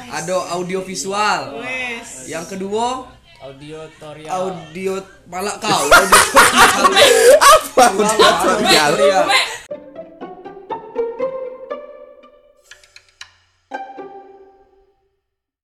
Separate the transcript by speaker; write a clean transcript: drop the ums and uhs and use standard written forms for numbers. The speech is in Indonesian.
Speaker 1: Ada audio visual. Yang kedua
Speaker 2: Auditorial.
Speaker 1: audio malah kau audio
Speaker 3: Apa auditorial?